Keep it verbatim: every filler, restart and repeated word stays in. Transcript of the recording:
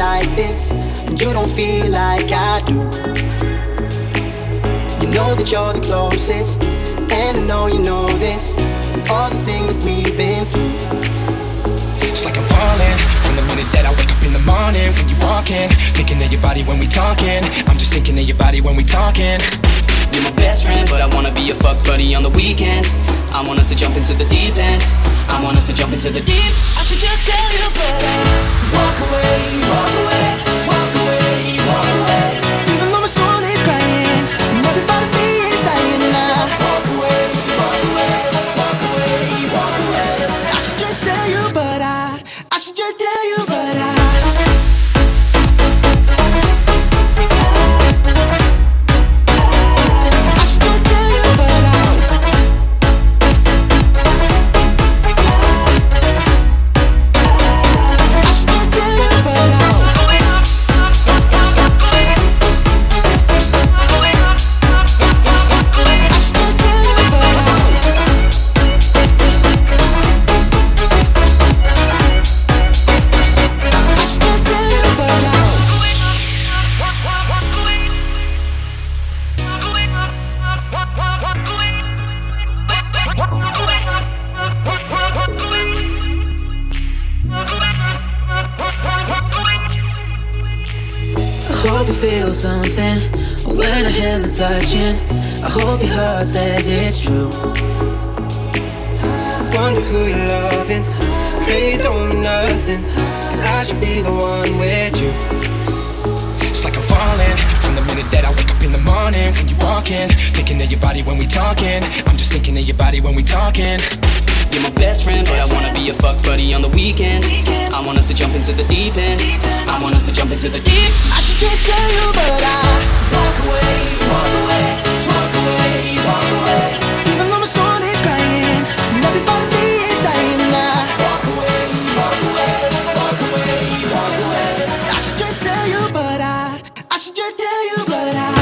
like this, and you don't feel like I do. You know that you're the closest, and I know you know this, all the things we've been through. It's like I'm falling from the minute that I wake up in the morning. When you walk in, thinking of your body when we talking. I'm just thinking of your body when we talking. You're my best friend, but I wanna be your fuck buddy on the weekend. I want us to jump into the deep end. I want us to jump into the deep. I should just tell you, but I walk away, walk away, walk away, walk away. Even though my soul is crying, and every part of me is dying, and I walk away, walk away, walk away, walk away. I should just tell you, but I, I should just tell you, but I. I hope you feel something when our hands are touching. I hope your heart says it's true. Wonder who you're loving. Pray you don't mean nothing, 'cause I should be the one with you. It's like I'm falling from the minute that I wake up in the morning. When you walk in, thinking of your body when we talking. I'm just thinking of your body when we talking. You're my best friend, but I wanna be your fuck buddy on the weekend. I want us to jump into the deep end. I want us to jump into the deep. I should just tell you, but I walk away, walk away, walk away, walk away. Even though my soul is crying, and every part of me is dying, and I walk away, walk away, walk away, walk away. I should just tell you, but I, I should just tell you, but I.